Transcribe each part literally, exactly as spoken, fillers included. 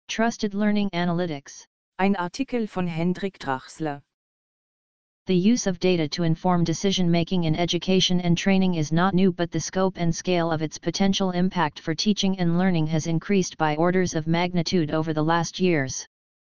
Trusted Learning Analytics. Ein Artikel von Hendrik Drachsler. The use of data to inform decision-making in education and training is not new, but the scope and scale of its potential impact for teaching and learning has increased by orders of magnitude over the last years.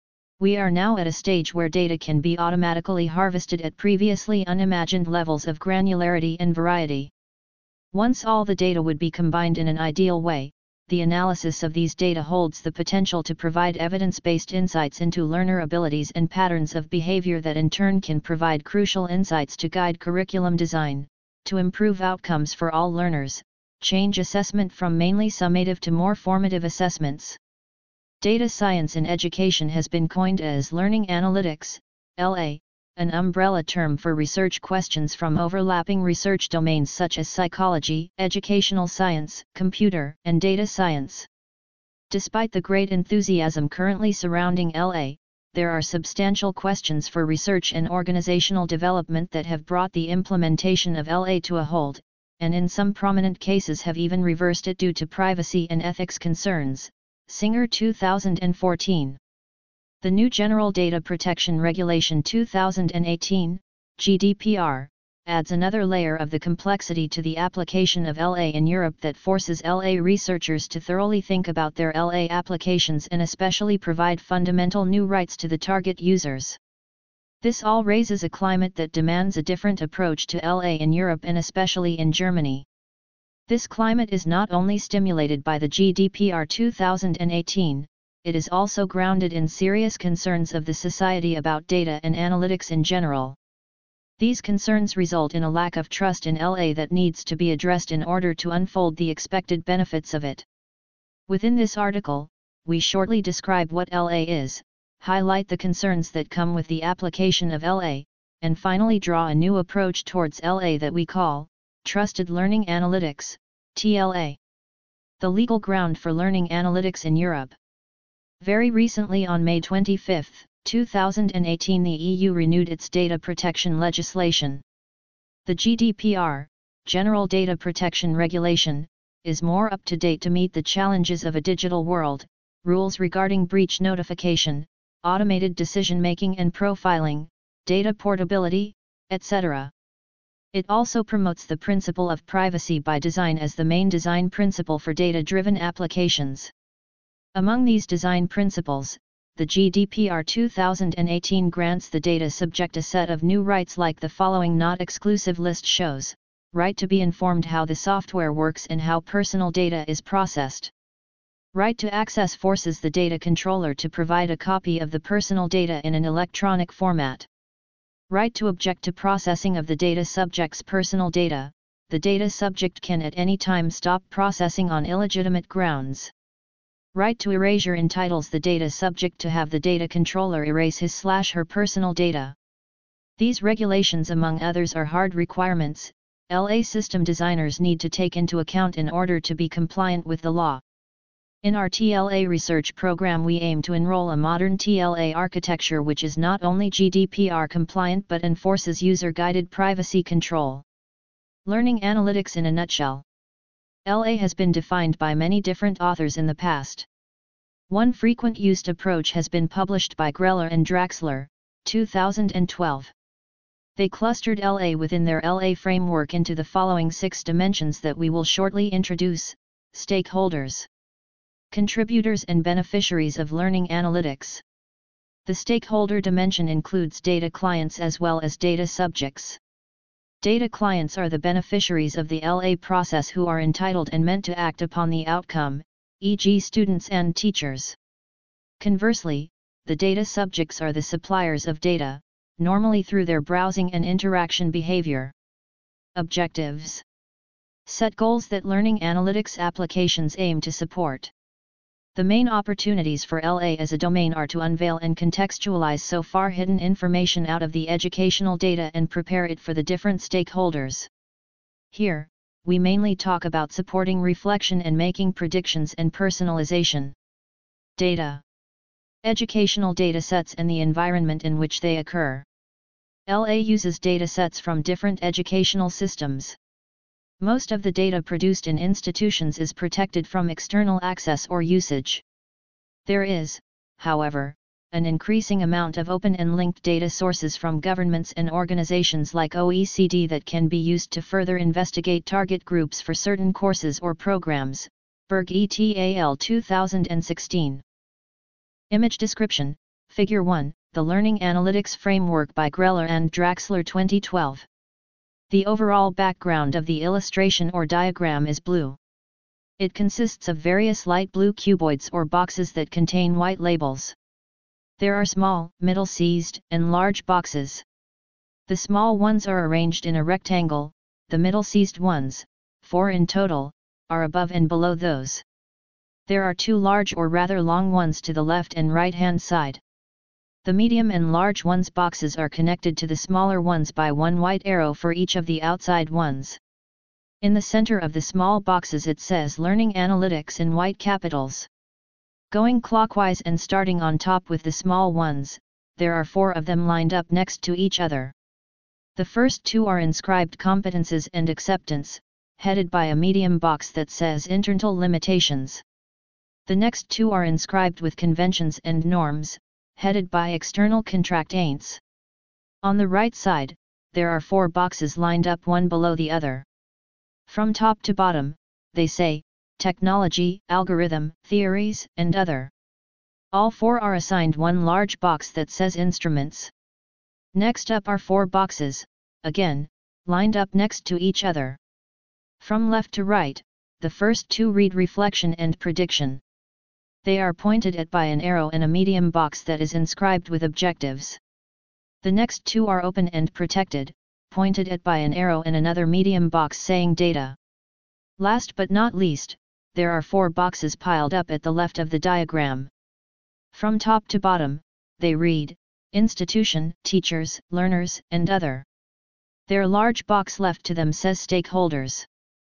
We are now at a stage where data can be automatically harvested at previously unimagined levels of granularity and variety. Once all the data would be combined in an ideal way, the analysis of these data holds the potential to provide evidence-based insights into learner abilities and patterns of behavior that in turn can provide crucial insights to guide curriculum design, to improve outcomes for all learners, change assessment from mainly summative to more formative assessments. Data science in education has been coined as learning analytics, L A, an umbrella term for research questions from overlapping research domains such as psychology, educational science, computer, and data science. Despite the great enthusiasm currently surrounding L A, there are substantial questions for research and organizational development that have brought the implementation of L A to a halt, and in some prominent cases have even reversed it due to privacy and ethics concerns. Singer two thousand fourteen. The new General Data Protection Regulation two thousand eighteen, G D P R, adds another layer of the complexity to the application of L A in Europe that forces L A researchers to thoroughly think about their L A applications and especially provide fundamental new rights to the target users. This all raises a climate that demands a different approach to L A in Europe and especially in Germany. This climate is not only stimulated by the G D P R two thousand eighteen, it is also grounded in serious concerns of the society about data and analytics in general. These concerns result in a lack of trust in L A that needs to be addressed in order to unfold the expected benefits of it. Within this article, we shortly describe what L A is, highlight the concerns that come with the application of L A, and finally draw a new approach towards L A that we call Trusted Learning Analytics, T L A. The legal ground for learning analytics in Europe. Very recently on May twenty-fifth, two thousand eighteen, the E U renewed its data protection legislation. The G D P R, General Data Protection Regulation, is more up to date to meet the challenges of a digital world, rules regarding breach notification, automated decision-making and profiling, data portability, et cetera. It also promotes the principle of privacy by design as the main design principle for data-driven applications. Among these design principles, the G D P R two thousand eighteen grants the data subject a set of new rights like the following not exclusive list shows: right to be informed how the software works and how personal data is processed. Right to access forces the data controller to provide a copy of the personal data in an electronic format. Right to object to processing of the data subject's personal data. The data subject can at any time stop processing on illegitimate grounds. Right to erasure entitles the data subject to have the data controller erase his slash her personal data. These regulations, among others, are hard requirements L A system designers need to take into account in order to be compliant with the law. In our T L A research program, we aim to enroll a modern T L A architecture which is not only G D P R compliant but enforces user-guided privacy control. Learning analytics in a nutshell. L A has been defined by many different authors in the past. One frequent used approach has been published by Greller and Draxler, two thousand twelve. They clustered L A within their L A framework into the following six dimensions that we will shortly introduce: stakeholders, contributors and beneficiaries of learning analytics. The stakeholder dimension includes data clients as well as data subjects. Data clients are the beneficiaries of the L A process who are entitled and meant to act upon the outcome, for example students and teachers. Conversely, the data subjects are the suppliers of data, normally through their browsing and interaction behavior. Objectives. Set goals that learning analytics applications aim to support. The main opportunities for L A as a domain are to unveil and contextualize so far hidden information out of the educational data and prepare it for the different stakeholders. Here, we mainly talk about supporting reflection and making predictions and personalization. Data. Educational datasets and the environment in which they occur. L A uses datasets from different educational systems. Most of the data produced in institutions is protected from external access or usage. There is, however, an increasing amount of open and linked data sources from governments and organizations like O E C D that can be used to further investigate target groups for certain courses or programs. Berg et al. two thousand sixteen. Image description, Figure one, The Learning Analytics Framework by Greller and Draxler twenty twelve. The overall background of the illustration or diagram is blue. It consists of various light blue cuboids or boxes that contain white labels. There are small, middle-sized, and large boxes. The small ones are arranged in a rectangle, the middle-sized ones, four in total, are above and below those. There are two large or rather long ones to the left and right-hand side. The medium and large ones boxes are connected to the smaller ones by one white arrow for each of the outside ones. In the center of the small boxes it says Learning Analytics in white capitals. Going clockwise and starting on top with the small ones, there are four of them lined up next to each other. The first two are inscribed Competences and Acceptance, headed by a medium box that says Internal Limitations. The next two are inscribed with Conventions and Norms, headed by External Contractaints. On the right side, there are four boxes lined up one below the other. From top to bottom, they say, Technology, Algorithm, Theories, and Other. All four are assigned one large box that says Instruments. Next up are four boxes, again, lined up next to each other. From left to right, the first two read Reflection and Prediction. They are pointed at by an arrow and a medium box that is inscribed with objectives. The next two are Open and Protected, pointed at by an arrow and another medium box saying Data. Last but not least, there are four boxes piled up at the left of the diagram. From top to bottom, they read, Institution, Teachers, Learners, and Other. Their large box left to them says Stakeholders.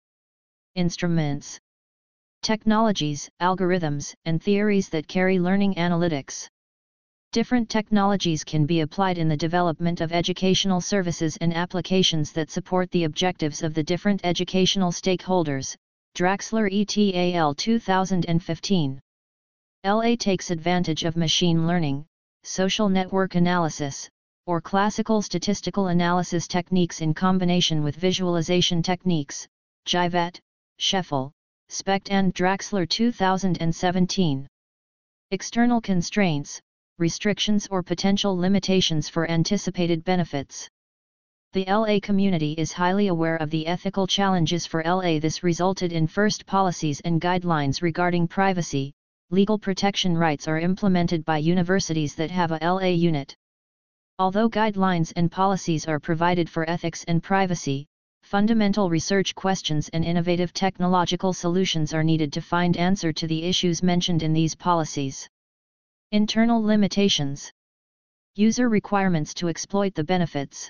Instruments. Technologies, algorithms, and theories that carry learning analytics. Different technologies can be applied in the development of educational services and applications that support the objectives of the different educational stakeholders. Draxler et al. two thousand fifteen. L A takes advantage of machine learning, social network analysis, or classical statistical analysis techniques in combination with visualization techniques. Jivet, Scheffel, Specht and Draxler two thousand seventeen. External constraints, restrictions or potential limitations for anticipated benefits. The L A community is highly aware of the ethical challenges for L A. This resulted in first policies and guidelines regarding privacy. Legal protection rights are implemented by universities that have a L A unit. Although guidelines and policies are provided for ethics and privacy, fundamental research questions and innovative technological solutions are needed to find answer to the issues mentioned in these policies. Internal limitations. User requirements to exploit the benefits.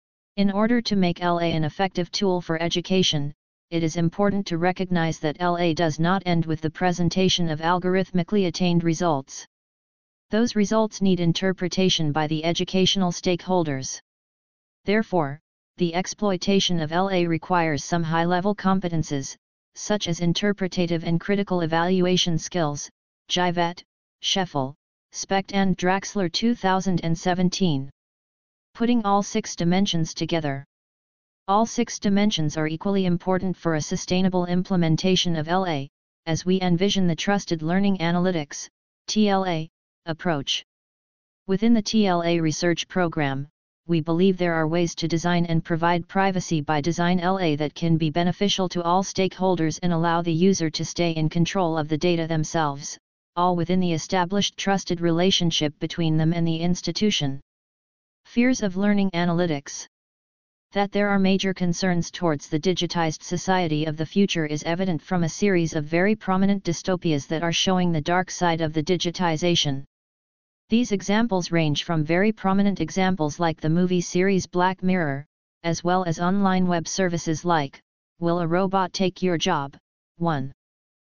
In order to make L A an effective tool for education, it is important to recognize that L A does not end with the presentation of algorithmically attained results. Those results need interpretation by the educational stakeholders. Therefore, the exploitation of L A requires some high-level competences, such as interpretative and critical evaluation skills. Jivet, Scheffel, Specht and Draxler two thousand seventeen. Putting all six dimensions together. All six dimensions are equally important for a sustainable implementation of L A, as we envision the Trusted Learning Analytics, T L A, approach. Within the T L A research program, we believe there are ways to design and provide privacy by design L A that can be beneficial to all stakeholders and allow the user to stay in control of the data themselves, all within the established trusted relationship between them and the institution. Fears of learning analytics. That there are major concerns towards the digitized society of the future is evident from a series of very prominent dystopias that are showing the dark side of the digitization. These examples range from very prominent examples like the movie series Black Mirror, as well as online web services like, Will a Robot Take Your Job? one.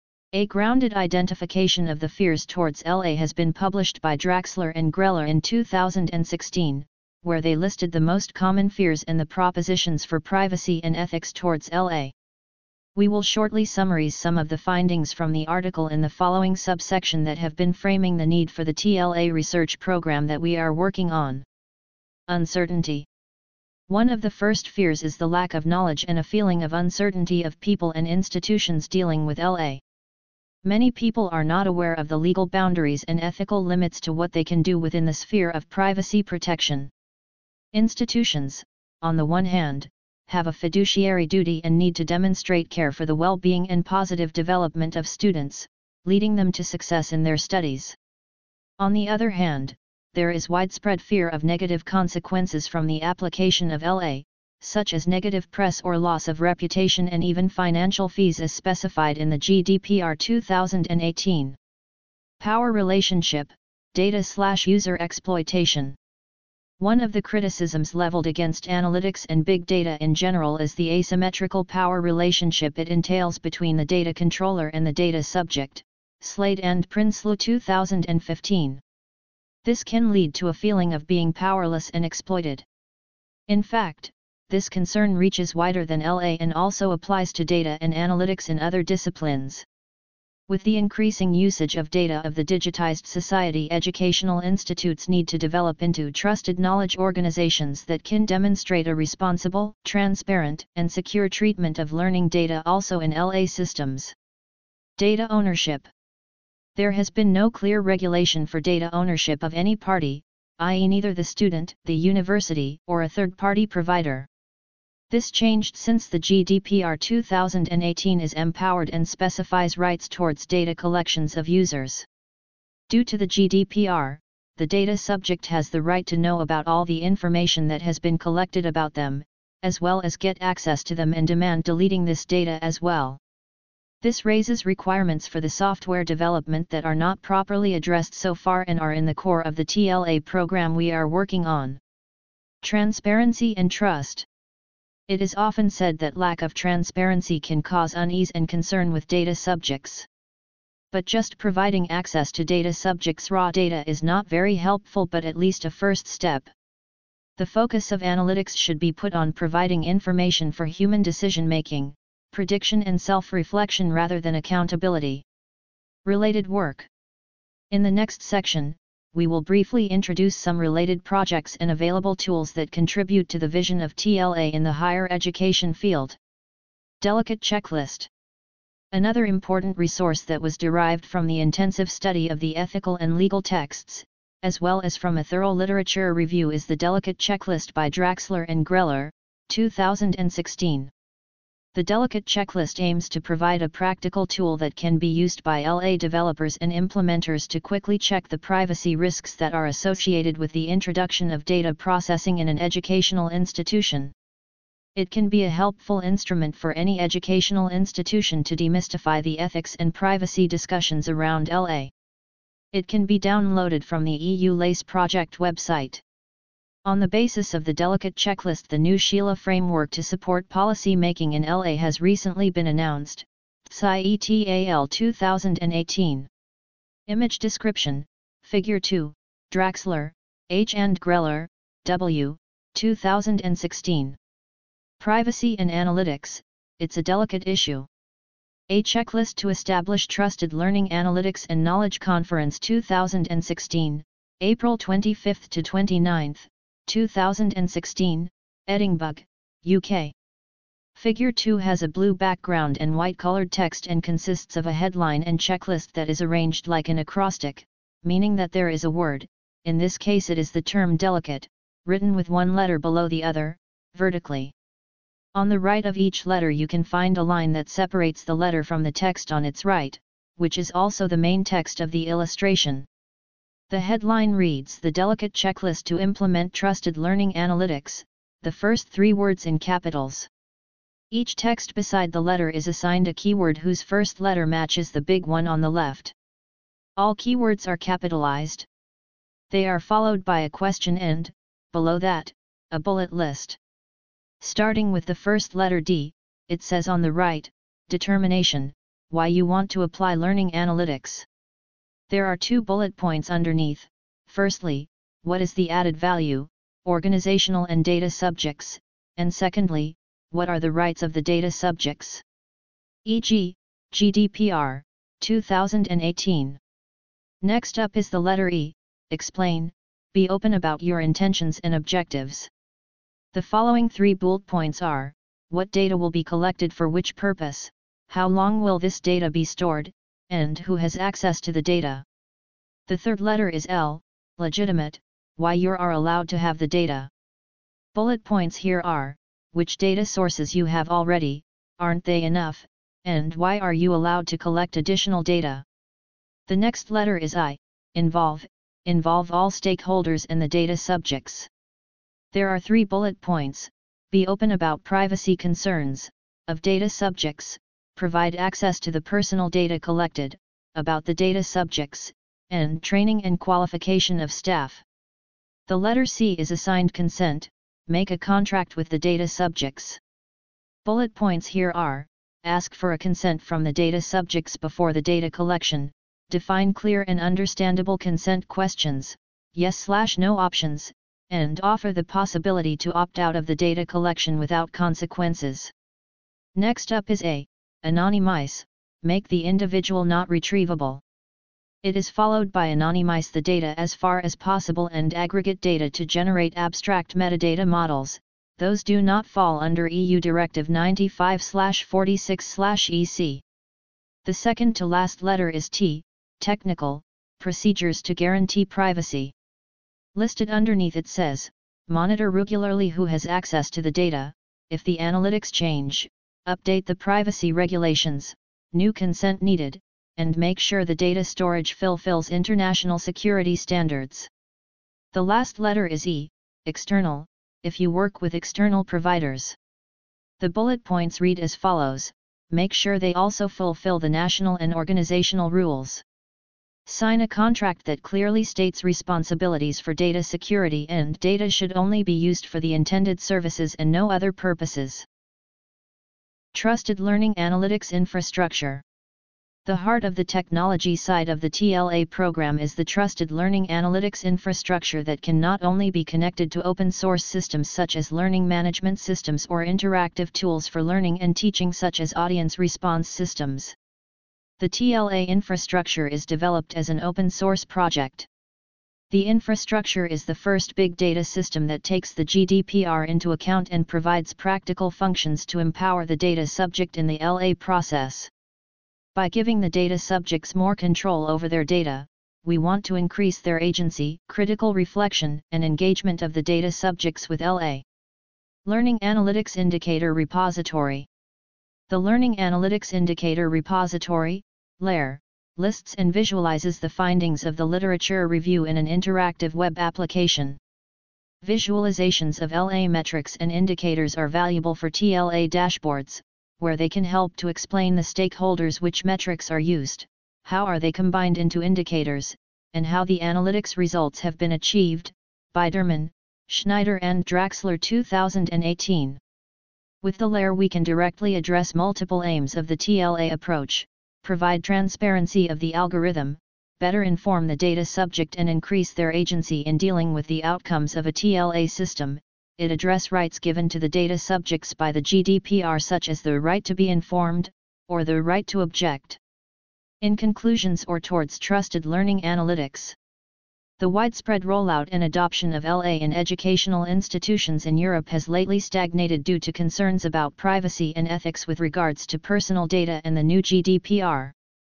A grounded identification of the fears towards L A has been published by Draxler and Greller in two thousand sixteen, where they listed the most common fears and the propositions for privacy and ethics towards L A. We will shortly summarize some of the findings from the article in the following subsection that have been framing the need for the T L A research program that we are working on. Uncertainty. One of the first fears is the lack of knowledge and a feeling of uncertainty of people and institutions dealing with L A. Many people are not aware of the legal boundaries and ethical limits to what they can do within the sphere of privacy protection. Institutions, on the one hand, have a fiduciary duty and need to demonstrate care for the well-being and positive development of students, leading them to success in their studies. On the other hand, there is widespread fear of negative consequences from the application of L A, such as negative press or loss of reputation and even financial fees as specified in the G D P R two thousand eighteen. Power relationship, data/user exploitation. One of the criticisms leveled against analytics and big data in general is the asymmetrical power relationship it entails between the data controller and the data subject, Slade and Prinsloo two thousand fifteen. This can lead to a feeling of being powerless and exploited. In fact, this concern reaches wider than L A and also applies to data and analytics in other disciplines. With the increasing usage of data of the digitized society, educational institutes need to develop into trusted knowledge organizations that can demonstrate a responsible, transparent, and secure treatment of learning data also in L A systems. Data ownership. There has been no clear regulation for data ownership of any party, that is neither the student, the university, or a third-party provider. This changed since the G D P R two thousand eighteen is empowered and specifies rights towards data collections of users. Due to the G D P R, the data subject has the right to know about all the information that has been collected about them, as well as get access to them and demand deleting this data as well. This raises requirements for the software development that are not properly addressed so far and are in the core of the T L A program we are working on. Transparency and trust. It is often said that lack of transparency can cause unease and concern with data subjects. But just providing access to data subjects' raw data is not very helpful, but at least a first step. The focus of analytics should be put on providing information for human decision-making, prediction and self-reflection rather than accountability. Related work. In the next section, we will briefly introduce some related projects and available tools that contribute to the vision of T L A in the higher education field. Delicate checklist. Another important resource that was derived from the intensive study of the ethical and legal texts, as well as from a thorough literature review, is the Delicate Checklist by Draxler and Greller, two thousand sixteen. The Delicate Checklist aims to provide a practical tool that can be used by L A developers and implementers to quickly check the privacy risks that are associated with the introduction of data processing in an educational institution. It can be a helpful instrument for any educational institution to demystify the ethics and privacy discussions around L A. It can be downloaded from the E U LACE project website. On the basis of the Delicate Checklist, the new Sheila framework to support policy making in L A has recently been announced, T S I E T A L two thousand eighteen. Image description, Figure two, Draxler, H. and Greller, W., two thousand sixteen. Privacy and analytics, it's a delicate issue. A checklist to establish trusted learning analytics and knowledge. Conference two thousand sixteen, April twenty-fifth to twenty-ninth, two thousand sixteen, Edinburgh, U K. Figure two has a blue background and white-colored text and consists of a headline and checklist that is arranged like an acrostic, meaning that there is a word, in this case it is the term delicate, written with one letter below the other, vertically. On the right of each letter you can find a line that separates the letter from the text on its right, which is also the main text of the illustration. The headline reads, "The Delicate Checklist to Implement Trusted Learning Analytics," the first three words in capitals. Each text beside the letter is assigned a keyword whose first letter matches the big one on the left. All keywords are capitalized. They are followed by a question and, below that, a bullet list. Starting with the first letter D, it says on the right, determination, why you want to apply learning analytics. There are two bullet points underneath. Firstly, what is the added value, organizational and data subjects, and secondly, what are the rights of the data subjects. for example, G D P R, two thousand eighteen. Next up is the letter E, explain, be open about your intentions and objectives. The following three bullet points are, what data will be collected for which purpose, how long will this data be stored, and who has access to the data. The third letter is L, legitimate, why you are allowed to have the data. Bullet points here are, which data sources you have already, aren't they enough, and why are you allowed to collect additional data. The next letter is I, involve, involve all stakeholders and the data subjects. There are three bullet points, be open about privacy concerns, of data subjects, provide access to the personal data collected, about the data subjects, and training and qualification of staff. The letter C is assigned consent, make a contract with the data subjects. Bullet points here are, ask for a consent from the data subjects before the data collection, define clear and understandable consent questions, yes slash no options, and offer the possibility to opt out of the data collection without consequences. Next up is A, anonymize, make the individual not retrievable. It is followed by anonymize the data as far as possible and aggregate data to generate abstract metadata models, those do not fall under E U Directive ninety-five forty-six E C. The second to last letter is T, technical, procedures to guarantee privacy. Listed underneath it says, monitor regularly who has access to the data, if the analytics change, update the privacy regulations, new consent needed, and make sure the data storage fulfills international security standards. The last letter is E, external, if you work with external providers. The bullet points read as follows, make sure they also fulfill the national and organizational rules. Sign a contract that clearly states responsibilities for data security and data should only be used for the intended services and no other purposes. Trusted Learning Analytics Infrastructure. The heart of the technology side of the T L A program is the Trusted Learning Analytics Infrastructure that can not only be connected to open source systems such as learning management systems or interactive tools for learning and teaching such as audience response systems. The T L A infrastructure is developed as an open source project. The infrastructure is the first big data system that takes the G D P R into account and provides practical functions to empower the data subject in the L A process. By giving the data subjects more control over their data, we want to increase their agency, critical reflection, and engagement of the data subjects with L A. Learning Analytics Indicator Repository. The Learning Analytics Indicator Repository, L A R, lists and visualizes the findings of the literature review in an interactive web application. Visualizations of L A metrics and indicators are valuable for T L A dashboards, where they can help to explain the stakeholders which metrics are used, how are they combined into indicators, and how the analytics results have been achieved. Biderman, Schneider and Draxler two thousand eighteen. With the L A R we can directly address multiple aims of the T L A approach, provide transparency of the algorithm, better inform the data subject and increase their agency in dealing with the outcomes of a T L A system. It address rights given to the data subjects by the G D P R such as the right to be informed, or the right to object. In conclusions or towards trusted learning analytics. The widespread rollout and adoption of L A in educational institutions in Europe has lately stagnated due to concerns about privacy and ethics with regards to personal data and the new G D P R.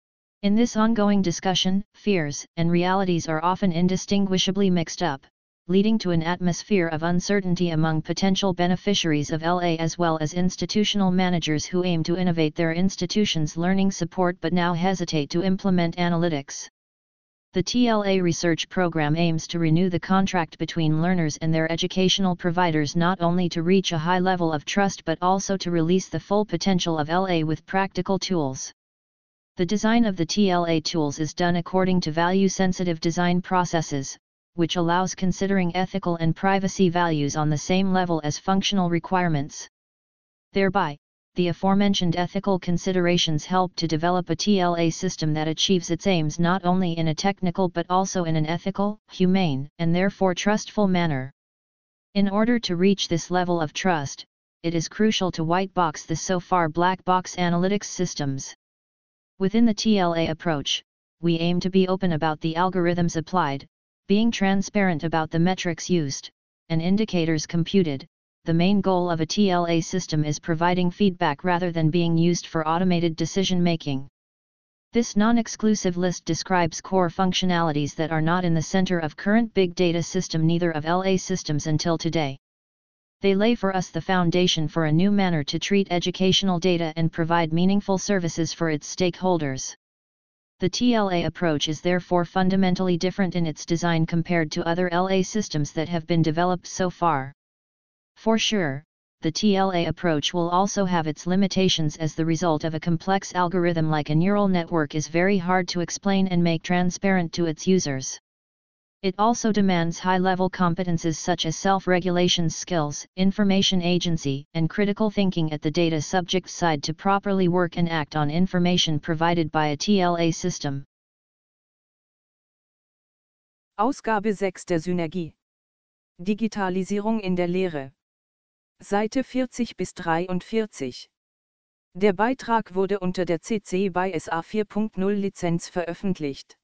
In this ongoing discussion, fears and realities are often indistinguishably mixed up, leading to an atmosphere of uncertainty among potential beneficiaries of L A as well as institutional managers who aim to innovate their institution's learning support but now hesitate to implement analytics. The T L A research program aims to renew the contract between learners and their educational providers not only to reach a high level of trust but also to release the full potential of L A with practical tools. The design of the T L A tools is done according to value-sensitive design processes, which allows considering ethical and privacy values on the same level as functional requirements. Thereby, the aforementioned ethical considerations help to develop a T L A system that achieves its aims not only in a technical but also in an ethical, humane, and therefore trustful manner. In order to reach this level of trust, it is crucial to white box the so far black box analytics systems. Within the T L A approach, we aim to be open about the algorithms applied, being transparent about the metrics used, and indicators computed. The main goal of a T L A system is providing feedback rather than being used for automated decision making. This non-exclusive list describes core functionalities that are not in the center of current big data system, neither of L A systems until today. They lay for us the foundation for a new manner to treat educational data and provide meaningful services for its stakeholders. The T L A approach is therefore fundamentally different in its design compared to other L A systems that have been developed so far. For sure, the T L A approach will also have its limitations, as the result of a complex algorithm like a neural network is very hard to explain and make transparent to its users. It also demands high-level competences such as self-regulation skills, information agency, and critical thinking at the data subject side to properly work and act on information provided by a T L A system. Ausgabe sechs der Synergie. Digitalisierung in der Lehre. Seite vierzig bis dreiundvierzig. Der Beitrag wurde unter der C C B Y S A vier Punkt null Lizenz veröffentlicht.